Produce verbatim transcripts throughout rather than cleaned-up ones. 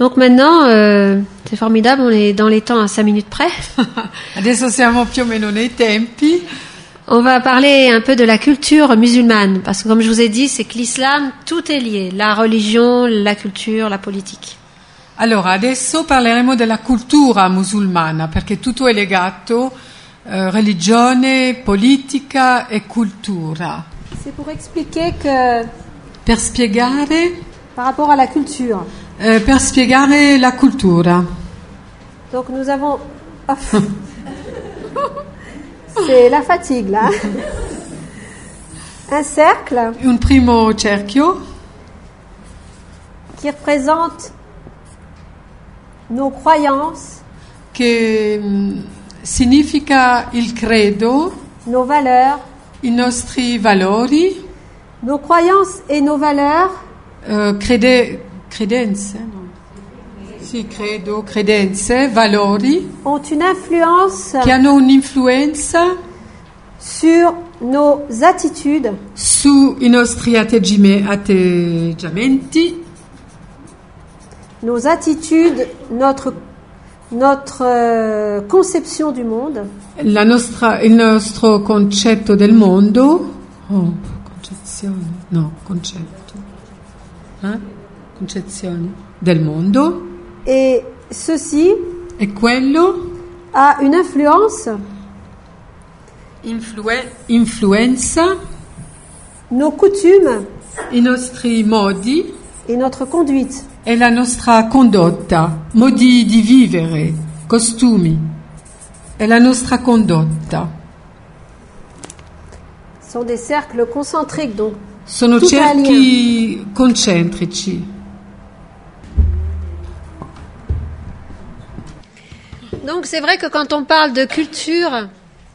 Donc maintenant, euh, c'est formidable, on est dans les temps à cinq minutes près. Adesso siamo più o meno nei tempi. On va parler un peu de la culture musulmane, parce que comme je vous ai dit, c'est que l'islam, tout est lié, la religion, la culture, la politique. Allora, adesso parleremo della cultura musulmana, perché tutto è legato, eh, religione, politica e cultura. C'est pour expliquer que, Per spiegare, par rapport à la culture, eh, per spiegare la cultura. donc nous avons... Oh. C'est la fatigue, là. Un cercle Un primo cerchio qui représente nos croyances, che mh, significa il credo, nos valeurs, i nostri valori, nos croyances et nos valeurs eh, crede, credenze, no? Sì, credo, credenze, valori, ont une influence che hanno un'influenza sur nos attitudes, sui nostri atteggime- atteggiamenti, nos attitudes, notre, notre euh, conception du monde, la nostra, il nostro concetto del mondo. Oh, concezione, no, concetto. Eh? Concezione del mondo. et ceci E quello a une influence influe- influenza nos coutumes i nostri modi et notre conduite. e la nostra condotta, modi di vivere, costumi e la nostra condotta. Ce sont des cercles concentriques, donc Sono Tutto cerchi concentrici. Donc c'est vrai que quand on parle de culture,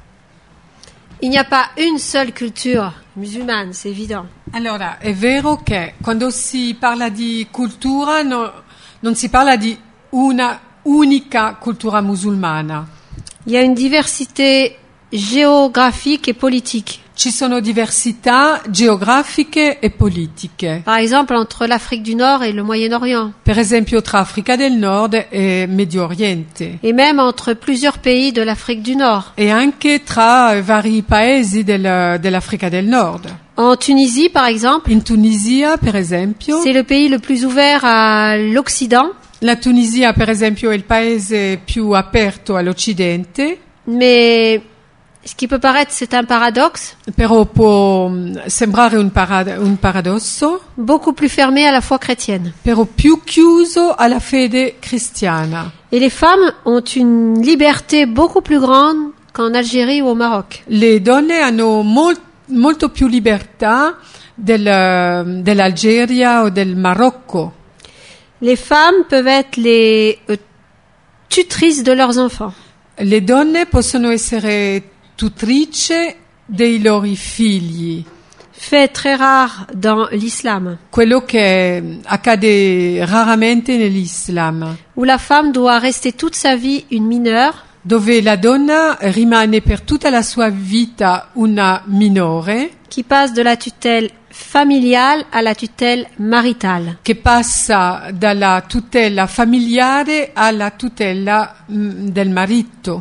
il n'y a pas une seule culture musulmane, c'est évident. Allora, è vero che quando si parla di cultura no- non si parla di una unica cultura musulmana. Il y a une diversité géographique et politique. Ci sono diversità geografiche e politiche. Par exemple, entre l'Afrique du Nord et le Moyen-Orient. Per esempio tra Africa del Nord e Medio Oriente. Et même entre plusieurs pays de l'Afrique du Nord. E anche tra vari paesi del- dell'Africa del Nord. En Tunisie, par exemple, In Tunisia, per esempio, c'est le pays le plus ouvert à l'Occident, la Tunisia, per esempio, è il paese più aperto all'Occidente, mais ce qui peut paraître, c'est un paradoxe, però può mh, sembrare un, parad- un paradosso, beaucoup plus fermé à la foi chrétienne. però più chiuso alla fede cristiana. Et les femmes ont une liberté beaucoup plus grande qu'en Algérie ou au Maroc. Le donne hanno mol- molto più libertà del- dell'Algeria o del Marocco. Les femmes peuvent être les euh, tutrices de leurs enfants. Le donne possono essere tutrice dei loro figli, Fait très rare dans l'islam, quello che accade raramente nell'Islam, où la femme doit rester toute sa vie une mineure, dove la donna rimane per tutta la sua vita una minore, qui passe de la tutelle familiale à la tutelle maritale. che passa dalla tutela familiare alla tutela mh, del marito.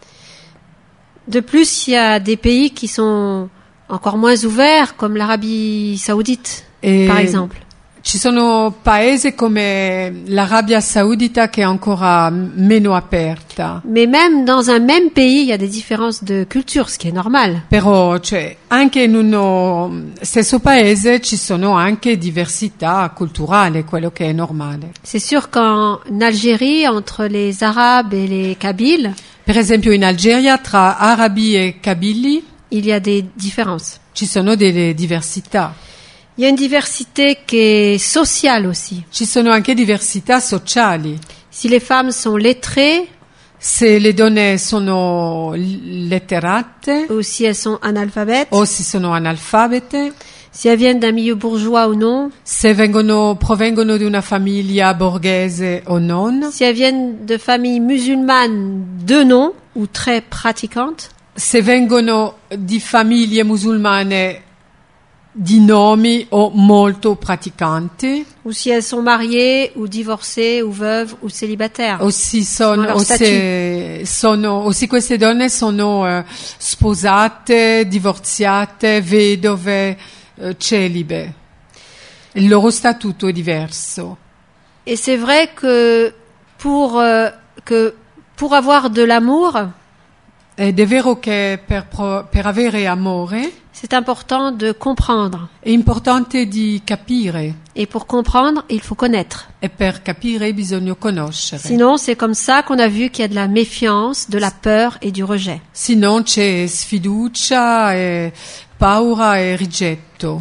De plus, il y a des pays qui sont encore moins ouverts, comme l'Arabie saoudite, E par exemple. ci sono paesi come l'Arabia Saudita che è ancora meno aperta. Mais même dans un même pays, il y a des différences de culture, ce qui est normal. Però, cioè, anche in uno stesso paese ci sono anche diversità culturali, quello che è normale. C'est sûr qu'en Algérie, entre les Arabes et les Kabyles, Per esempio in Algeria tra arabi e kabili il y a des différences. ci sono delle diversità. Il y a une diversité qui est sociale aussi. Ci sono anche diversità sociali. Si les femmes sont lettrées Se le donne sono letterate ou si elles sont analphabètes, o se sono analfabete, si elles viennent d'un milieu bourgeois ou non, se vengono, provengono di una famiglia borghese o non, si elles viennent de familles musulmanes de nom ou très pratiquantes, se vengono di famiglie musulmane di nomi o molto praticanti, ou si elles sont mariées, ou divorcées, ou veuves, ou célibataires. o, si Selon sono, leur o, statut. se sono, o se queste donne sono eh, sposate, divorziate, vedove, eh, celibe. Il loro statuto è diverso. Et c'est vrai que pour, euh, que pour avoir de l'amour, Ed è vero che per, pro- per avere amore c'est important de comprendre. è importante di capire, Et pour comprendre, il faut connaître. e per capire bisogna conoscere. Sinon, c'est comme ça qu'on a vu qu'il y a de la méfiance, de la peur et du rejet. Sinon c'è sfiducia, e paura e rigetto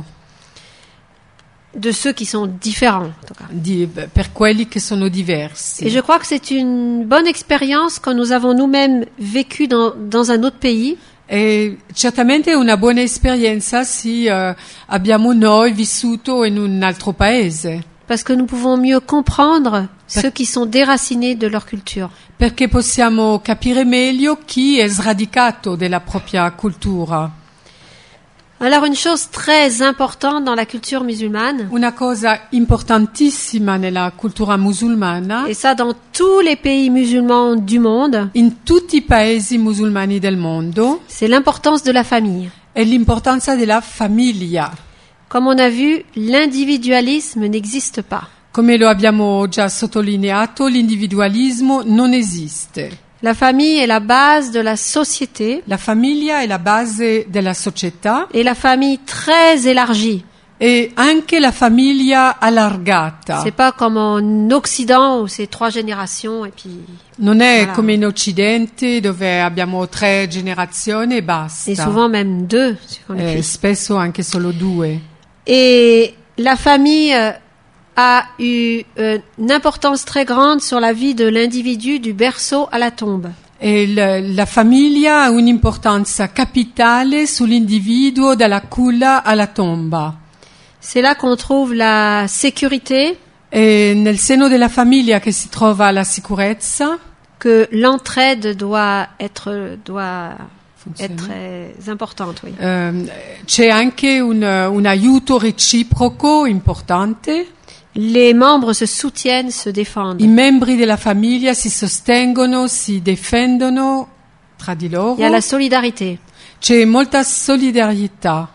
De ceux qui sont différents, en tout cas. di- per quelli che sono diversi. Et je crois que c'est une bonne expérience quand nous avons nous-mêmes vécu dans, dans un autre pays, E certamente è una buona esperienza se eh, abbiamo noi vissuto in un altro paese, parce que nous pouvons mieux comprendre ceux qui sont déracinés de leur culture. perché possiamo capire meglio chi è sradicato della propria cultura. Alors, une chose très importante dans la culture musulmane, Una cosa importantissima nella cultura musulmana, et ça dans tous les pays musulmans du monde, in tutti i paesi musulmani del mondo, c'est l'importance de la famille. è l'importanza della famiglia. Comme on a vu, l'individualisme n'existe pas. Come lo abbiamo già sottolineato, l'individualismo non esiste. La famille est la base de la société, La famiglia è la base della società et la famille très élargie. e anche la famiglia allargata. C'est pas comme en Occident où c'est trois générations et puis Non è Voilà. come in Occidente dove abbiamo tre generazioni e basta. et souvent même deux suivant les Eh, pays. spesso anche solo due. Et la famille euh, a eu euh, une importance très grande sur la vie de l'individu du berceau à la tombe. E il- la famiglia ha un'importanza capitale sull'individuo dalla culla alla tomba. C'est là qu'on trouve la sécurité, È nel seno della famiglia che si trova la sicurezza, que l'entraide doit être doit Funziona. être très importante, oui. ehm, c'è anche un, un aiuto reciproco importante. Les membres se soutiennent, se défendent. I membri della famiglia si sostengono, si difendono tra di loro. Il y a la solidarité. C'è molta solidarietà.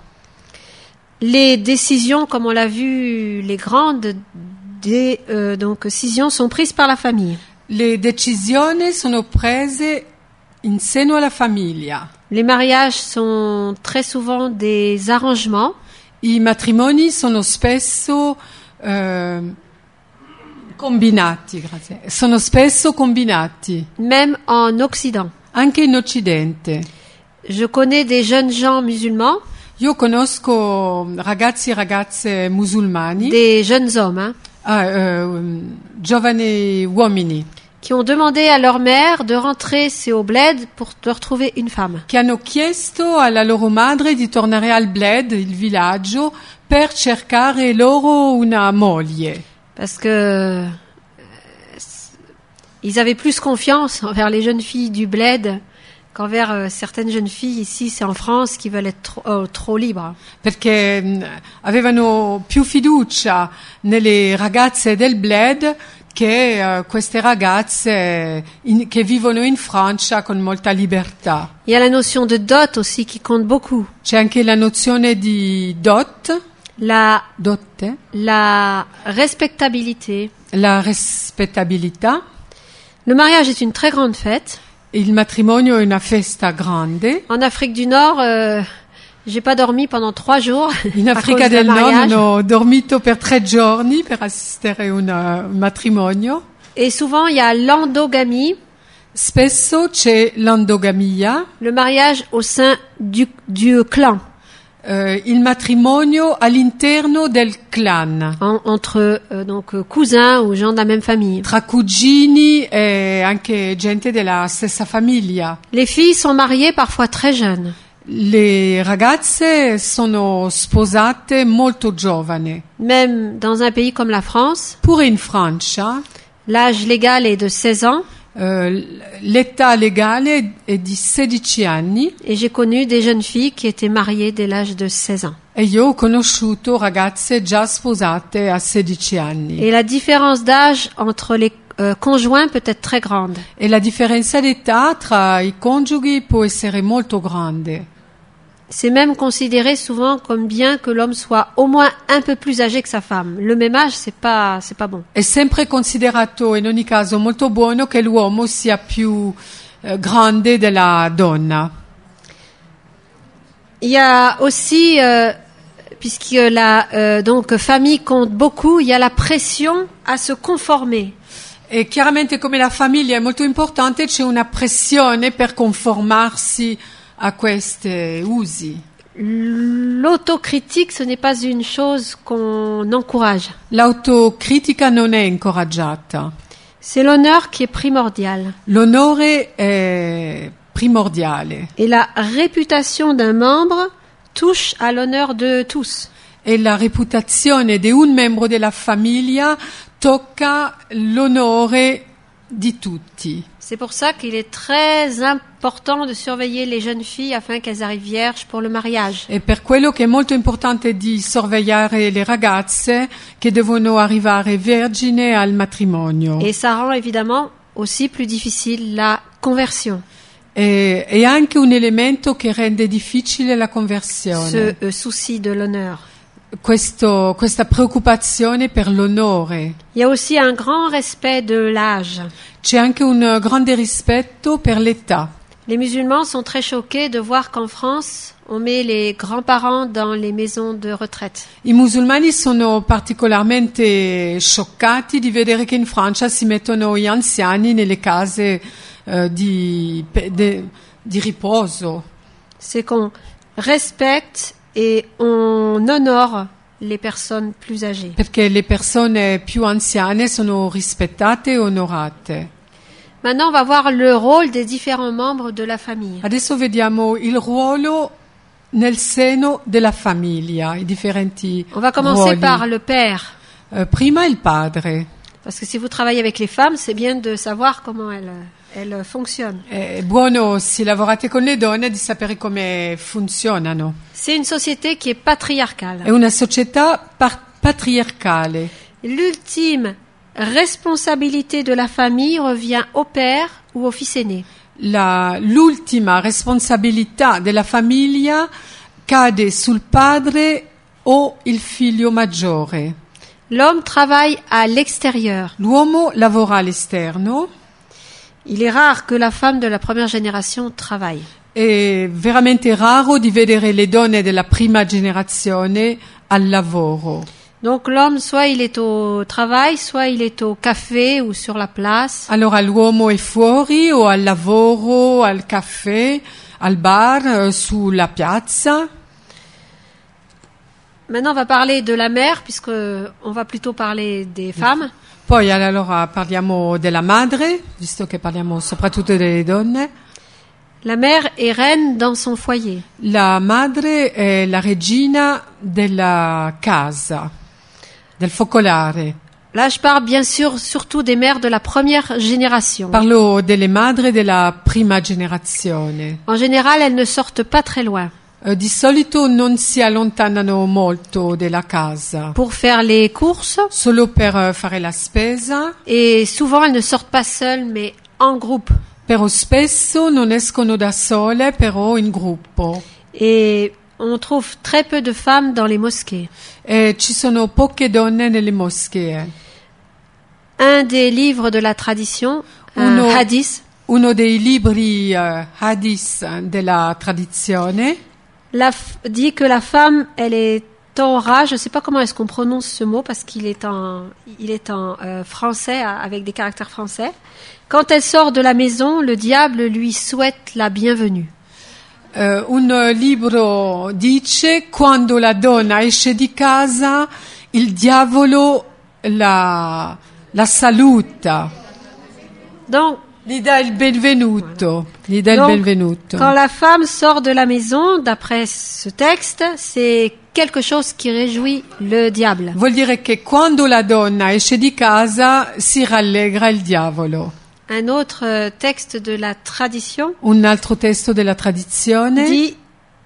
Les décisions, comme on l'a vu, les grandes des, euh, donc, décisions sont prises par la famille. Le decisioni sono prese in seno alla famiglia. Les mariages sont très souvent des arrangements. I matrimoni sono spesso eh, combinati, grazie. Sono spesso combinati, Même en Occident. anche in Occidente. Je connais des jeunes gens musulmans, Io conosco ragazzi e ragazze musulmani, des jeunes hommes, hein, ah, eh, giovani uomini, qui ont demandé à leur mère de rentrer c'est au bled pour leur trouver une femme. che hanno chiesto alla loro madre di tornare al bled, il villaggio, per cercare loro una moglie. Parce que euh, ils avaient plus confiance envers les jeunes filles du bled qu'envers euh, certaines jeunes filles ici, c'est en France, qui veulent être trop, euh, trop libres. Perché mh, avevano più fiducia nelle ragazze del bled che eh, queste ragazze in- che vivono in Francia con molta libertà. Il y a la notion de dot aussi qui compte beaucoup. C'è anche la nozione di dot, La, dotte, la respectabilité. la rispettabilità. Le mariage est une très grande fête. Il matrimonio è una festa grande. En Afrique du Nord, euh, j'ai pas dormi pendant trois jours In à Africa cause d'un del Nord mariage. non ho dormito per tre giorni per assistere a un uh, matrimonio. Et souvent, il y a l'endogamie, Spesso c'è l'endogamia, le mariage au sein du, du clan, eh, il matrimonio all'interno del clan, en- entre euh, donc euh, cousins ou gens de la même famille. tra cugini e anche gente della stessa famiglia. Les filles sont mariées parfois très jeunes. Le ragazze sono sposate molto giovani. Même dans un pays comme la France, Pure in Francia l'âge légal est de seize ans eh, l'età legale è di sedici anni et j'ai connu des jeunes filles qui étaient mariées dès l'âge de seize ans. E io ho conosciuto ragazze già sposate a sedici anni. Et la différence d'âge entre les euh, conjoints peut être très grande. E la differenza d'età tra i coniughi può essere molto grande. C'est même considéré souvent comme bien que l'homme soit au moins un peu plus âgé que sa femme. Le même âge, c'est pas, c'est pas bon. È sempre considerato in ogni caso molto buono che l'uomo sia più eh, grande della donna. Il y a aussi, euh, puisque la euh, donc famille compte beaucoup, il y a la pression à se conformer. E chiaramente come la famiglia è molto importante c'è una pressione per conformarsi a questi usi. L'autocritique, ce n'est pas une chose qu'on encourage. L'autocritica non è incoraggiata. C'est l'honneur qui est primordial. L'onore è primordiale. Et la réputation d'un membre touche à l'honneur de tous. E la reputazione di un membro della famiglia tocca l'onore di tutti. C'est pour ça qu'il est très important de surveiller les jeunes filles afin qu'elles arrivent vierges pour le mariage. E per quello che è molto importante di sorvegliare le ragazze che devono arrivare vergine al matrimonio. Et ça rend évidemment aussi plus difficile la conversion. E, è anche un elemento che rende difficile la conversione. Ce euh, souci de l'honneur. Questo, questa preoccupazione per l'onore. Il y a aussi un grand respect de l'âge. C'è anche un grande rispetto per l'età. Les musulmans sont très choqués de voir qu'en France, on met les grands-parents dans les maisons de retraite. I musulmani sono particolarmente scioccati di vedere che in Francia si mettono gli anziani nelle case eh, di, de, di riposo. C'est qu'on respecte et on honore les personnes plus âgées. Perché le persone più anziane sono rispettate e onorate. Maintenant, on va voir le rôle des différents membres de la famille. Adesso vediamo il ruolo nel seno della famiglia, i differenti On va commencer ruoli. par le père. Eh, prima il padre. Parce que si vous travaillez avec les femmes, c'est bien de savoir comment elles, elles fonctionnent. È buono, se lavorate con le donne, di sapere come funzionano. C'est une société qui est patriarcale. È una società par- patriarcale. L'ultime responsabilité de la famille revient au père ou au fils aîné. La, l'ultima responsabilità della famiglia cade sul padre o il figlio maggiore. L'homme travaille à l'extérieur. L'uomo lavora all'esterno. Il est rare que la femme de la première génération travaille. È veramente raro di vedere le donne della prima generazione al lavoro. Donc l'homme, soit il est au travail, soit il est au café ou sur la place. Allora l'uomo è fuori o al lavoro, al caffè, al bar, sulla piazza. Maintenant, on va parler de la mère, puisque on va plutôt parler des femmes. Poi allora parliamo della madre, visto che parliamo soprattutto delle donne. La mère est reine dans son foyer. La madre è la regina della casa, del focolare. Là, je parle bien sûr surtout des mères de la première génération. Parlo delle madri della prima generazione. En général, elles ne sortent pas très loin. Eh, di solito non si allontanano molto dalla casa, Pour faire les courses, solo per eh, fare la spesa, et souvent elles ne sortent pas seules, mais en groupe. però spesso non escono da sole, però in gruppo. Et on trouve très peu de femmes dans les mosquées. E ci sono poche donne nelle moschee. Un des livres de la tradition, un Uno- hadith, Uno dei libri eh, hadith della tradizione la f- dit que la femme, elle est Torah, je ne sais pas comment est-ce qu'on prononce ce mot parce qu'il est en, il est en euh, français à- avec des caractères français. Quand elle sort de la maison, le diable lui souhaite la bienvenue. Eh, un libro dice: quando la donna esce di casa, il diavolo la, la saluta, Donc, gli dà il benvenuto, gli dà il donc, benvenuto. quand la femme sort de la maison, d'après ce texte, c'est quelque chose qui réjouit le diable. Vuol dire che quando la donna esce di casa si rallegra il diavolo. Un autre euh, texte de la tradition Un altro testo della tradizione dit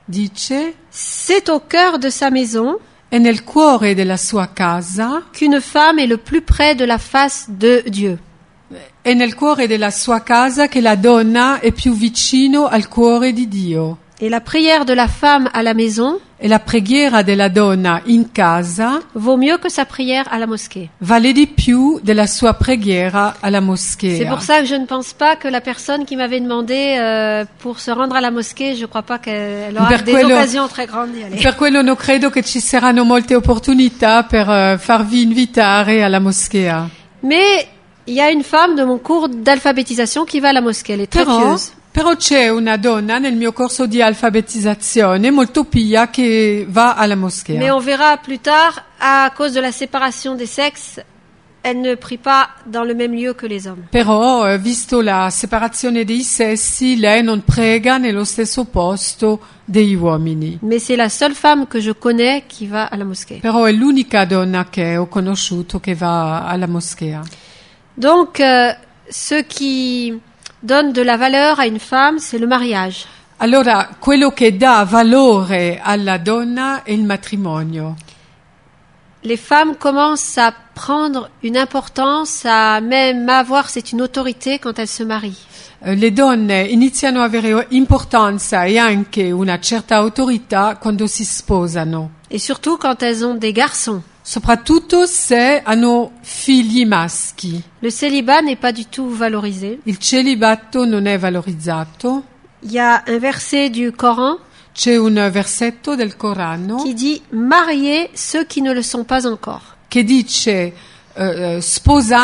dice, c'est au cœur de sa maison è nel cuore della sua casa, qu'une femme est le plus près de la face de Dieu. è nel cuore della sua casa che la donna è più vicino al cuore di Dio. Et la prière de la femme à la maison E la preghiera della donna in casa vaut mieux que sa prière à la mosquée. vale di più della sua preghiera alla moschea. C'est pour ça que je ne pense pas que la personne qui m'avait demandé euh, pour se rendre à la mosquée, je crois pas qu'elle aura Per des quello- occasions très grandes d'y aller. Per quello non credo che ci saranno molte opportunità per eh, farvi invitare alla moschea. Mais il y a une femme de mon cours d'alphabétisation qui va à la mosquée, elle est très Però, pieuse. però c'è una donna nel mio corso di alfabetizzazione molto pia che va alla moschea. Mais on verra plus tard, à cause de la séparation des sexes, elle ne prie pas dans le même lieu que les hommes. Però, eh, visto la separazione dei sessi, lei non prega nello stesso posto degli uomini. Mais c'est la seule femme que je connais qui va à la mosquée. Però è l'unica donna che ho conosciuto che va alla moschea. Donc, euh, ce qui donne de la valeur à une femme, c'est le mariage. Allora, quello che dà valore alla donna è il matrimonio. Les femmes commencent à prendre une importance, à même avoir, c'est une autorité quand elles se marient. Eh, Le donne iniziano ad avere importanza e anche una certa autorità quando si sposano, Et surtout quand elles ont des garçons. soprattutto se hanno figli maschi. Le célibat n'est pas du tout valorisé. Il celibato non è valorizzato. Il y a un verset du Coran C'è un versetto del Corano qui dit « Mariez ceux qui ne le sont pas encore che dice eh, eh, sposate ».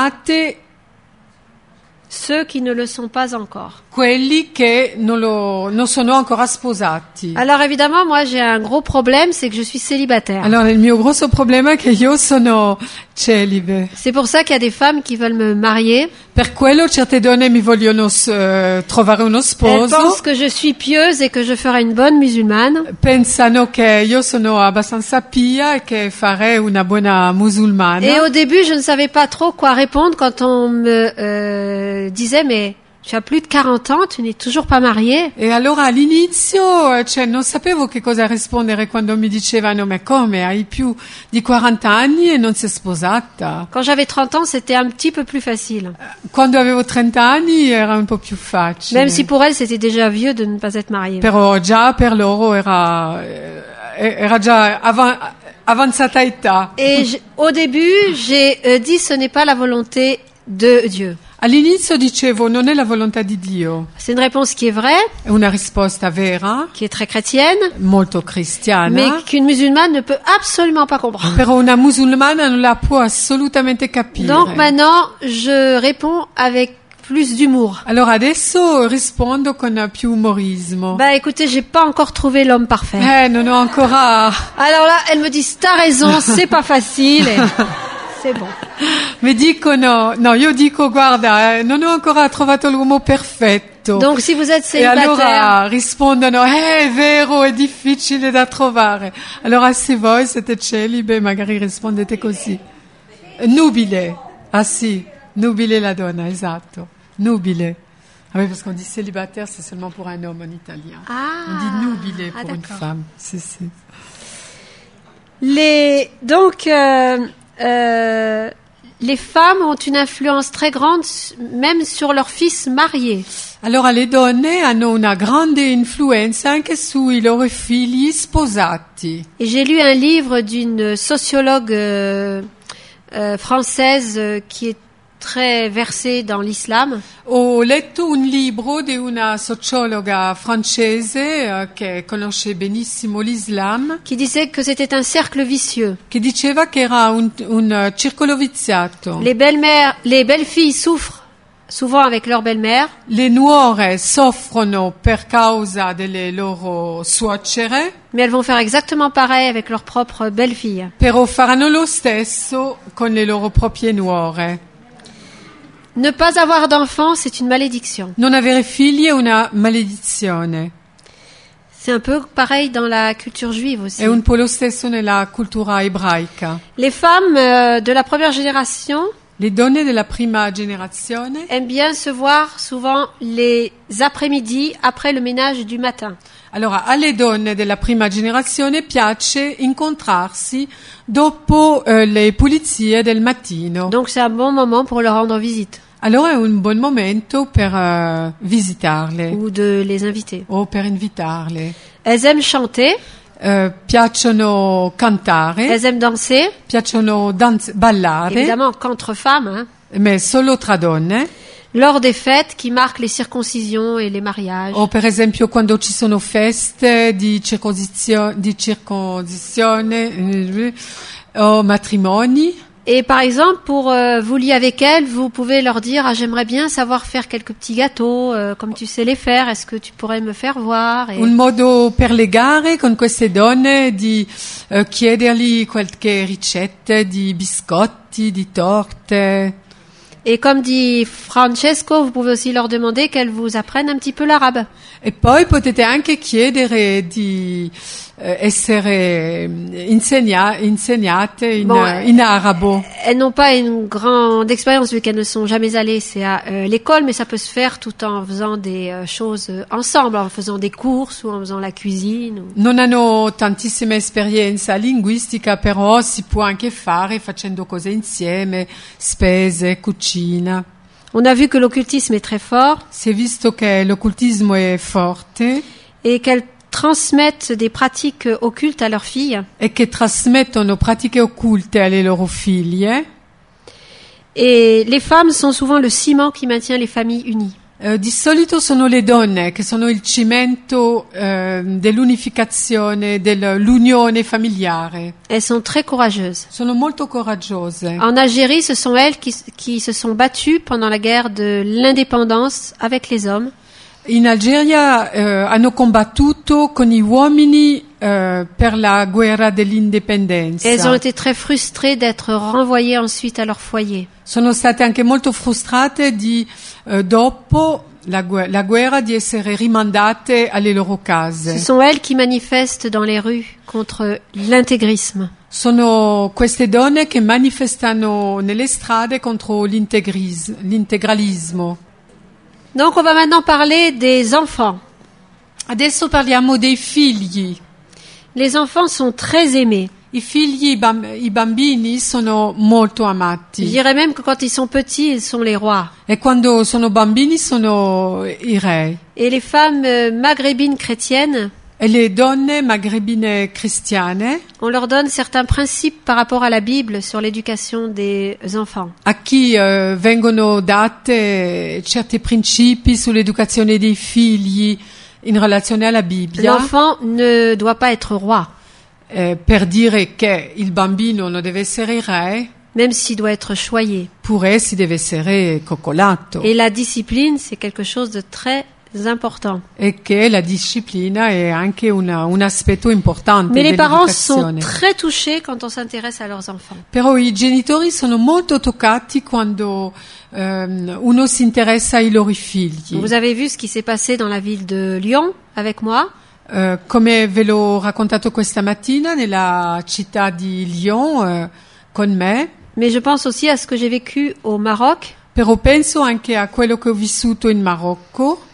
Ceux qui ne le sont pas encore. quelli che non, lo, non sono ancora sposati. Alors évidemment, moi j'ai un gros problème, c'est que je suis célibataire. Allora, il mio grosso problema è che io sono celibe. C'est pour ça qu'il y a des femmes qui veulent me marier. Per quello certe donne mi vogliono eh, trovare uno Elles sposo. pensent que je suis pieuse et que je ferai une bonne musulmane. Pensano che io sono abbastanza pia e che farei una buona musulmana. Et au début, je ne savais pas trop quoi répondre quand on me euh, disait « Mais tu as plus de quarante ans, tu n'es toujours pas mariée ?» E allora all'inizio eh, cioè, non sapevo che cosa rispondere quando mi dicevano ma come, hai più di quaranta anni e non sei sposata? Quand j'avais trente ans, c'était un petit peu plus facile. Quando avevo trenta anni era un po' più facile. Même si pour elles, c'était déjà vieux de ne pas être mariée. Però già per loro era, eh, era già avan- avanzata età. Et je- au début, j'ai euh, dit « Ce n'est pas la volonté de Dieu ». All'inizio dicevo non è la volontà di Dio. C'est une réponse qui est vraie, È una risposta vera, qui est très chrétienne, molto cristiana, mais qu'une musulmane ne peut absolument pas comprendre. però una musulmana non la può assolutamente capire. Donc maintenant, je réponds avec plus d'humour. Allora adesso rispondo con più umorismo. Bah écoutez, j'ai pas encore trouvé l'homme parfait. Eh, non ho ancora... Alors là, elles me disent t'as raison, c'est pas facile. Et c'est bon. Mi dicono, no, io dico guarda, eh, non ho ancora trovato l'uomo perfetto. Donc si vous êtes E célibataire, allora rispondono, eh, è vero, è difficile da trovare. Allora se voi siete celibe, magari rispondete così. Nubile, ah sì, nubile la donna, esatto, nubile. Ah oui, parce qu'on dit célibataire, c'est seulement pour un homme en italien. Ah, On dit nubile ah, pour une d'accord. femme. Si, si. les donc euh, euh, les femmes ont une influence très grande, s- même sur leurs fils mariés. Allora le donne hanno una grande influenza anche sui loro figli sposati. Et j'ai lu un livre d'une sociologue euh, euh, française euh, qui est très versée dans l'islam. Ho letto un libro di una sociologa francese eh, che conosce benissimo l'Islam, Qui disait que c'était un cercle vicieux. che diceva che era un, un eh, circolo viziato. Les belles-mères, les belles-filles souffrent souvent avec leur belle-mère, Le nuore soffrono per causa delle loro suocere, mais elles vont faire exactement pareil avec leur propre belle-fille. però faranno lo stesso con le loro proprie nuore. Ne pas avoir d'enfants, c'est une malédiction. Non avere figli è una maledizione. C'est un peu pareil dans la culture juive aussi. È un po' lo stesso nella cultura ebraica. Les femmes euh, de la première génération Le donne della prima generazione aiment bien se voir souvent les après-midi après le ménage du matin. Allora, alle donne della prima generazione piace incontrarsi dopo eh, le pulizie del mattino. Donc c'est un bon moment pour leur rendre visite Allora è un buon momento per eh, visitarle ou de les inviter. o per invitarle. Elles aiment chanter, Eh, piacciono cantare, elles aiment danser, piacciono danz- ballare, évidemment qu'entre femmes, hein, ma solo tra donne. lors des fêtes qui marquent les circoncisions et les mariages. O per esempio quando ci sono feste di, circosizio- di circoncisione eh, o matrimoni. Et par exemple, pour euh, vous lier avec elles, vous pouvez leur dire ah, j'aimerais bien savoir faire quelques petits gâteaux, euh, comme tu sais les faire, est-ce que tu pourrais me faire voir et... Un modo per legare con queste donne di eh, chiedergli qualche ricette di biscotti, di torte. Et comme dit Francesco, vous pouvez aussi leur demander qu'elles vous apprennent un petit peu l'arabe. E poi potete anche chiedere di eh, essere insegna- insegnate in, Bon, eh, in arabo. Elles n'ont pas une grande expérience vu qu'elles ne sont jamais allées c'est à euh, l'école, mais ça peut se faire tout en faisant des euh, choses euh, ensemble, en faisant des courses ou en faisant la cuisine. Ou... Non hanno tantissima esperienza linguistica, però si può anche fare facendo cose insieme, spese, cucina. On a vu que l'occultisme est très fort Si è visto che l'occultismo è forte et qu'elles transmettent des pratiques euh, occultes à leurs filles. e che trasmettono pratiche occulte alle loro figlie. Et les femmes sont souvent le ciment qui maintient les familles unies. Eh, di solito sono le donne che sono il cimento eh, dell'unificazione, dell'unione familiare. Elles sont très courageuses. Sono molto coraggiose. En Algérie, ce sont elles qui, qui se sont battues pendant la guerre de l'indépendance avec les hommes. In Algeria eh, hanno combattuto con gli uomini eh, per la guerra dell'indipendenza. Elles ont été très frustrées d'être renvoyées ensuite à leur foyer. Sono state anche molto frustrate di, eh, dopo la, gu- la guerra, di essere rimandate alle loro Ce case. sont elles qui manifestent dans les rues contre l'intégrisme. Sono queste donne che manifestano nelle strade contro l'integris- l'integralismo. Donc on va maintenant parler des enfants. Adesso parliamo dei figli. Les enfants sont très aimés. I figli, i, bam- i bambini sono molto Je amati. dirais même que quand ils sont petits, ils sont les rois. E quando sono bambini sono i re. Et les femmes euh, maghrébines chrétiennes, E le donne magrebine cristiane, on leur donne certains principes par rapport à la Bible sur l'éducation des enfants. a chi eh, vengono date certi principi sull'educazione dei figli in relazione alla Bibbia, L'enfant ne doit pas être roi, eh, per dire che il bambino non deve essere re, même s'il doit être choyé. pure si deve essere coccolato. Et la discipline, c'est quelque chose de très important. E che la disciplina è anche una- un aspetto importante Mais les parents sont dell'educazione. très touchés quand on s'intéresse à leurs enfants. Però i genitori sono molto toccati quando ehm, uno si interessa ai loro figli. Vous avez vu ce qui s'est passé dans la ville de Lyon avec moi. Eh, come ve l'ho raccontato questa mattina nella città di Lyon eh, con me, Mais je pense aussi à ce que j'ai vécu au Maroc. però penso anche a quello che ho vissuto in Marocco.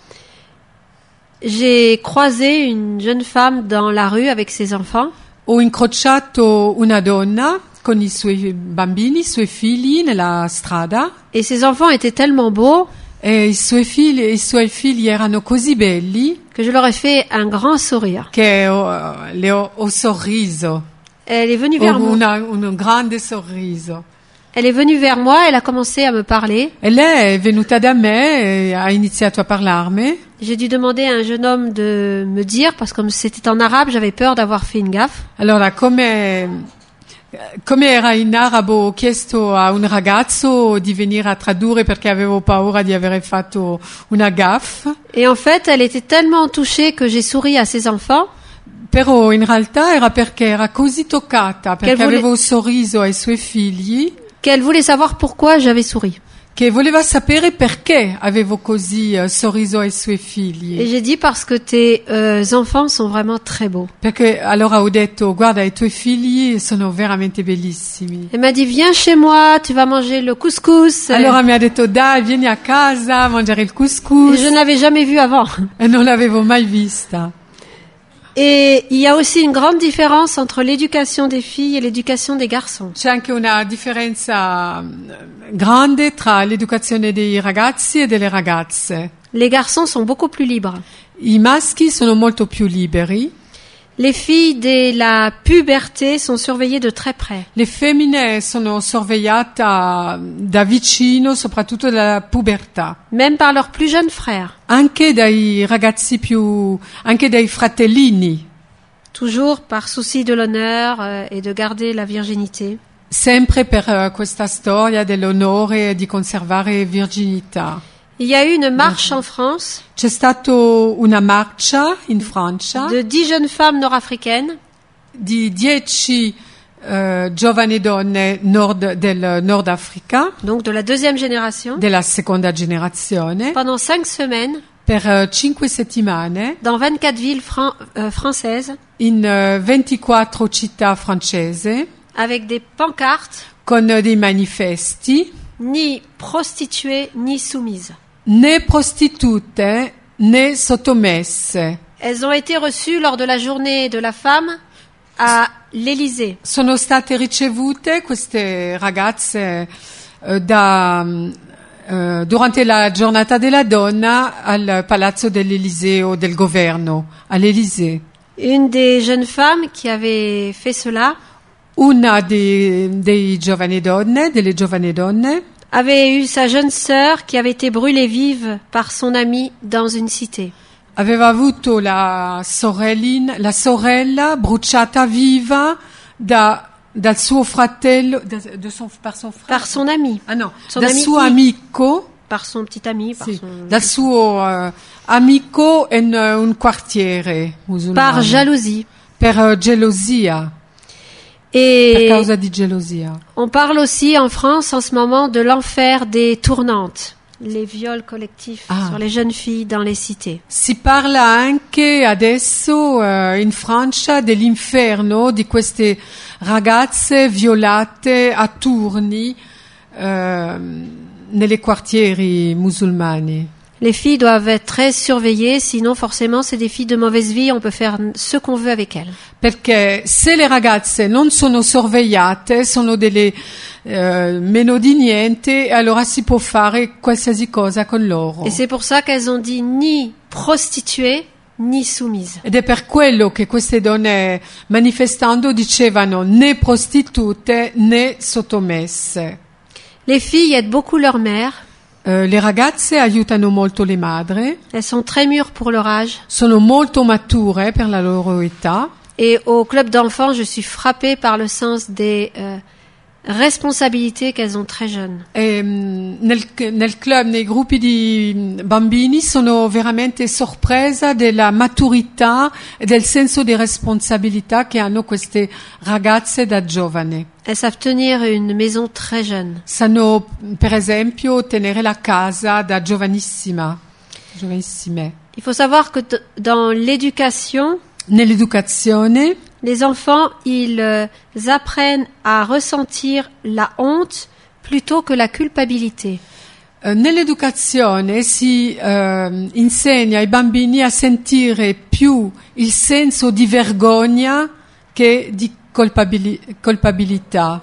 J'ai croisé une jeune femme dans la rue avec ses enfants. Ho incrociato una donna con i suoi bambini, i suoi figli nella strada Et ces enfants étaient tellement beaux e i suoi figli, i suoi figli erano così belli que je leur ai fait un grand sourire. che ho, le ho, ho sorriso, Elle est venue ho vers moi. una- un grande sorriso. Elle est venue vers moi, elle a commencé à me parler. E lei è venuta da me e ha iniziato a parlarmi. J'ai dû demander à un jeune homme de me dire, parce que comme c'était en arabe, j'avais peur d'avoir fait une gaffe. Allora, come, come era in arabo, ho chiesto a un ragazzo di venire a tradurre perché avevo paura di avere fatto una gaffe. Et en fait, elle était tellement touchée que j'ai souri à ses enfants. Però in realtà era perché era così toccata, perché Che vuole- avevo sorriso ai suoi figli, Qu'elle voulait savoir pourquoi j'avais souri. che voleva sapere perché avevo così eh, sorriso ai suoi figli. Et j'ai dit parce que tes euh, enfants sont vraiment très beaux. Perché allora ho detto, guarda, i tuoi figli sono veramente bellissimi. Elle m'a dit, viens chez moi, tu vas manger le couscous. Allora mi ha detto, dai, vieni a casa a mangiare il Et couscous. je n'avais jamais vu avant. E non l'avevo mai vista. Et il y a aussi une grande différence entre l'éducation des filles et l'éducation des garçons. C'è anche una differenza mm, grande tra l'educazione dei ragazzi e delle ragazze. Les garçons sont beaucoup plus libres. I maschi sono molto più liberi, Les filles de la puberté sont surveillées de très près. le femmine sono sorvegliate da vicino, soprattutto dalla pubertà, Même par leurs plus jeunes frères. anche dai ragazzi più, anche dai fratellini, Toujours par souci de l'honneur euh, et de garder la virginité. sempre per eh, questa storia dell'onore e di conservare virginità. Il y a eu une marche en France C'è stata una marcia in Francia de dix jeunes femmes nord-africaines di dieci eh, giovani donne nord, del Nord Africa, donc de la deuxième génération, della seconda generazione, pendant cinq semaines, per eh, cinque settimane dans vingt-quatre villes fran- euh, françaises, in eh, ventiquattro città francesi, avec des pancartes, con dei manifesti, ni prostituées, ni soumises. né prostitute né sottomesse. Elles ont été reçues lors de la journée de la femme à l'Élysée. Sono state ricevute queste ragazze eh, da, eh, durante la giornata della donna al Palazzo dell'Eliseo del governo, all'Elysée. Une des jeunes femmes qui avait fait cela Una dei, dei giovani donne, delle giovani donne, avait eu sa jeune sœur qui avait été brûlée vive par son amie dans une cité. aveva avuto la sorellina, la sorella bruciata viva da, dal suo fratello, da, de son, par son frère. Par son ami. Ah no, Son dal ami suo I. amico, Par son petit ami. Par, sì, son... dal suo uh, amico in uh, un quartiere musulmano. par jalousie. Per uh, gelosia, per Et causa di gelosia. on parle aussi en France en ce moment de l'enfer des tournantes, les viols collectifs Ah. sur les jeunes filles dans les cités. Si parla anche adesso uh, in Francia dell'inferno di queste ragazze violate a turni uh, nelle quartieri musulmani. Les filles doivent être très surveillées, sinon forcément c'est des filles de mauvaise vie, on peut faire ce qu'on veut avec elles. Perché se le ragazze non sono sorvegliate, sono delle eh, meno di niente, allora si può fare qualsiasi cosa con loro. Et c'est pour ça qu'elles ont dit ni prostituées, ni soumises. Ed è per quello che queste donne manifestando dicevano né prostitute né sottomesse. Les filles aident beaucoup leur mère, Eh, le ragazze aiutano molto le madri, elles sont très mûres pour leur âge. sono molto mature per la loro età. Et au club d'enfants, je suis frappée par le sens des euh, responsabilités qu'elles ont très jeunes. E, mh, nel, nel club, nei gruppi di mh, bambini, sono veramente sorpresa della maturità e del senso di responsabilità che hanno queste ragazze da giovane. Elles savent tenir une maison très jeune. Sanno, per esempio, tenere la casa da giovanissima, giovanissime. Il faut savoir que d- dans l'éducation, Nell'educazione, les enfants, ils euh, apprennent à ressentir la honte plutôt que la culpabilité. eh, nell'educazione si eh, insegna ai bambini a sentire più il senso di vergogna che di colpabili- colpabilità,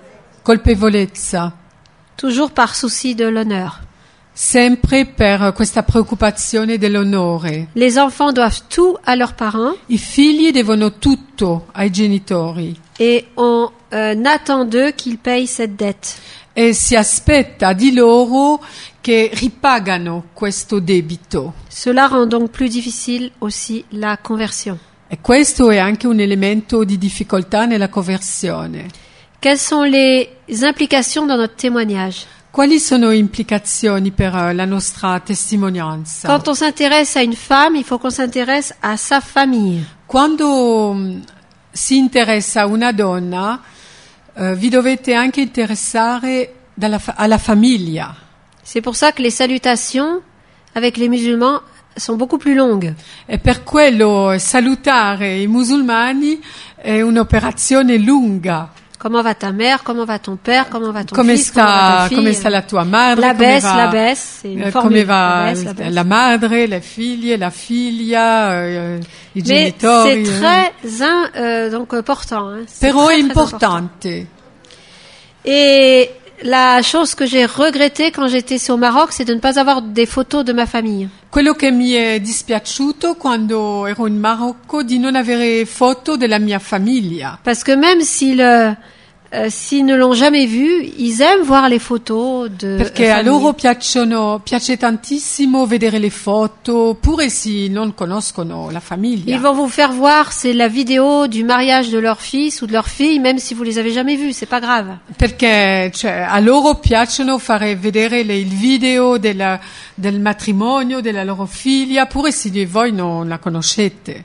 colpevolezza, Toujours par souci de l'honneur. sempre per questa preoccupazione dell'onore. Les enfants doivent tout à leurs parents I figli devono tutto ai genitori et on euh, attend d'eux qu'ils payent cette dette. e si aspetta di loro che ripagano questo debito. Cela rend donc plus difficile aussi la conversion. E questo è anche un elemento di difficoltà nella conversione. Quelles sont les implications dans notre témoignage? Quali sono implicazioni per eh, la nostra testimonianza? Quand on s'intéresse à une femme, il faut qu'on s'intéresse à sa famille. Quando mh, si interessa a una donna, eh, vi dovete anche interessare dalla fa- alla famiglia. C'est pour ça que les salutations avec les musulmans sont beaucoup plus longues. E per quello salutare i musulmani è un'operazione lunga. Comment va ta mère? Comment va ton père? Comment va ton Come fils? Comment va sta, ta fille? come sta la tua madre? La come baisse, va, la baisse, c'est une eh, formule. come va La baisse, la baisse. la madre, le figlie, la figlia, eh, i Mais genitori. c'est eh. très in- euh, donc important. Hein. C'est Però très, è très important. importante. Et la chose que j'ai regrettée quand j'étais au Maroc, c'est de ne pas avoir des photos de ma famille. Quello che mi è dispiaciuto quando ero in Marocco di non avere foto della mia famiglia. Parce que même s'ils, euh, euh, s'ils ne l'ont jamais vu, ils aiment voir les photos de Perché euh, a famille. loro piacciono, piace tantissimo vedere le foto, pure se non conoscono la famiglia. Ils vont vous faire voir, c'est la vidéo du mariage de leur fils ou de leur fille, même si vous les avez jamais vus, c'est pas grave. Perché cioè, a loro piacciono fare vedere le, il video della, del matrimonio della loro figlia, pure se voi non la conoscete.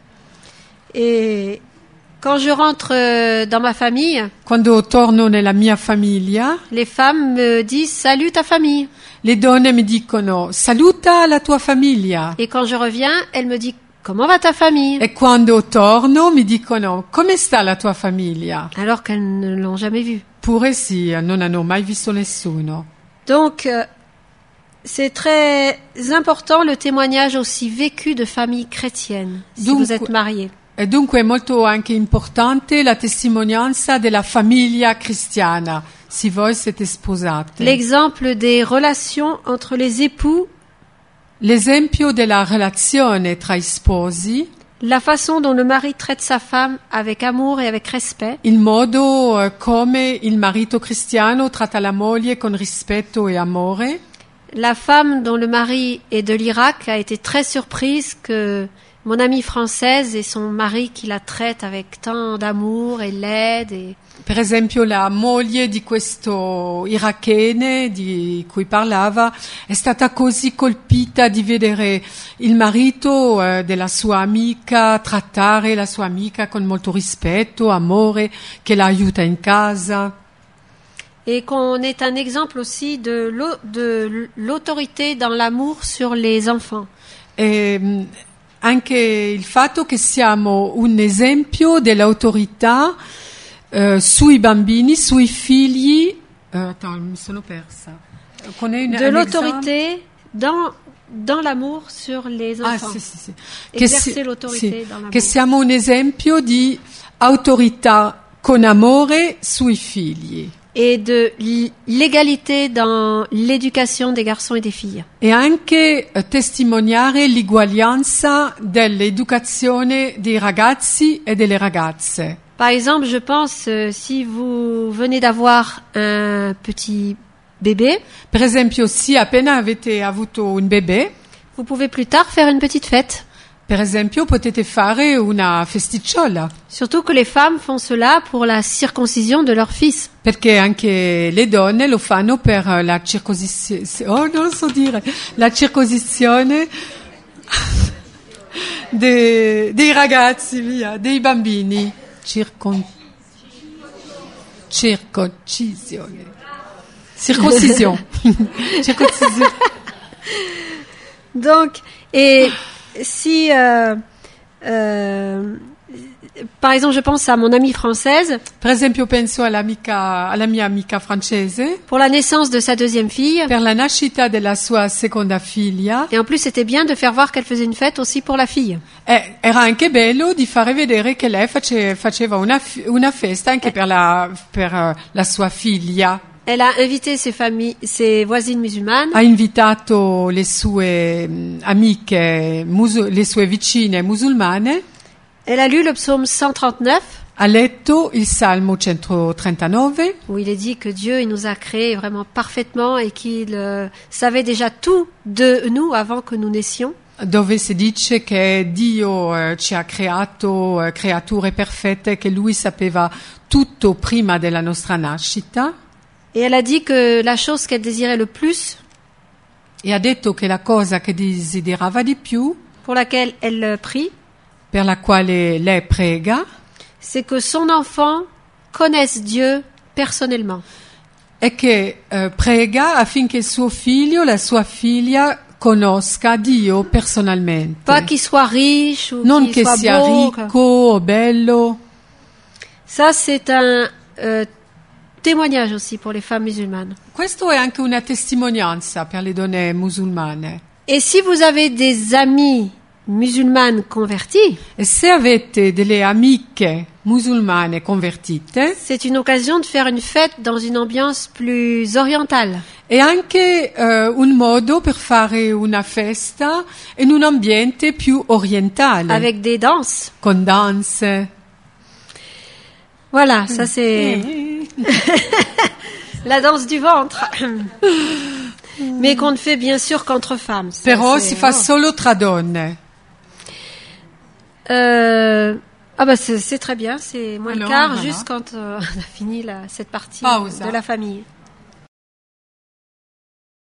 Et quand je rentre euh, dans ma famille, Quando torno nella mia famiglia, les femmes me disent salut ta famille. le donne mi dicono saluta la tua famiglia. Et quand je reviens, elle me dit comment va ta famille? E quando torno mi dicono come sta la tua famiglia? Alors qu'elles ne l'ont jamais vu. Pure sì, non hanno mai visto nessuno. Donc, euh, c'est très important le témoignage aussi vécu de familles chrétiennes, si Donc, vous êtes mariés. E dunque è molto anche importante la testimonianza della famiglia cristiana, se voi siete sposate. L'exemple des relations entre les époux, L'esempio della relazione tra i sposi, la façon dont le mari traite sa femme avec amour et avec respect, il modo eh, come il marito cristiano tratta la moglie con rispetto e amore. la femme dont le mari est de l'Irak a été très surprise que mon amie française et son mari qui la traite avec tant d'amour et l'aide. Et... Per esempio la moglie di questo irachene di cui parlava è stata così colpita di vedere il marito eh, della sua amica trattare la sua amica con molto rispetto, amore, che la aiuta in casa. Et qu'on est un exemple aussi de l'au- de l'autorité dans l'amour sur les enfants. E, mh, anche il fatto che siamo un esempio dell'autorità eh, sui bambini, sui figli. Eh, attends, mi sono persa. Qu'on ait une- De un l'autorité dans, dans l'amour sur les Ah, enfants. sì, sì, sì. Esercer si- l'autorité sì, dans l'amour. che siamo un esempio di autorità con amore sui figli Et de l- l'égalité dans l'éducation des garçons et des filles. e anche eh, testimoniare l'uguaglianza dell'educazione dei ragazzi e delle ragazze. Par exemple, je pense, euh, si vous venez d'avoir un petit bébé, Per esempio, se appena avete avuto un bebè, vous pouvez plus tard faire une petite fête. per esempio, potete fare una festicciola, Surtout que les femmes font cela pour la circoncision de leur fils. perché anche le donne lo fanno per la circosizione, oh, non lo so dire, la circosizione de- dei ragazzi, via, dei bambini. Circon- circoncisione. Circoncision. Circoncision. Donc, et si, euh, euh, par exemple, je pense à mon amie française, Per esempio penso all'amica, alla mia amica francese, pour la naissance de sa deuxième fille, per la nascita della sua seconda figlia, et en plus c'était bien de faire voir qu'elle faisait une fête aussi pour la fille. eh, era anche bello di fare vedere che lei face- faceva una, fi- una festa anche per, la, per eh, la sua figlia. Elle a invité ses familles, ses voisines musulmanes, Ha invitato le sue mh, amiche, musu- le sue vicine musulmane, elle a lu le psaume cent trente-neuf, ha letto il Salmo centotrentanove, où il est dit que Dieu il nous a créés vraiment parfaitement et qu'il euh, savait déjà tout de nous avant que nous naissions. dove si dice che Dio eh, ci ha creato eh, creature perfette, che Lui sapeva tutto prima della nostra nascita, Et elle a dit que la chose qu'elle désirait le plus, e ha detto che la cosa che desiderava di più, pour laquelle elle euh, prie, per la quale lei prega, c'est que son enfant connaisse Dieu personnellement. e che eh, prega affinché suo figlio, la sua figlia, conosca Dio personalmente. Pas qu'il soit riche ou Non qu'il che soit sia beau. ricco o bello. Ça, c'est un euh, témoignage aussi pour les femmes musulmanes. Questo è anche una testimonianza per le donne musulmane. Et si vous avez des amies musulmanes converties, E se avete delle amiche musulmane convertite, c'est une occasion de faire une fête dans une ambiance plus orientale. è anche eh, un modo per fare una festa in un ambiente più orientale, Avec des danses. con danze. Voilà, ça c'est la danse du ventre. Mais qu'on ne fait bien sûr qu'entre femmes. Ça, Però c'est- si fa oh. solo tra donne. Euh, ah bah c'est c'est très bien, c'est moins le Alors, quart, voilà. juste quand euh, on a fini la, cette partie Pausa. de la famille.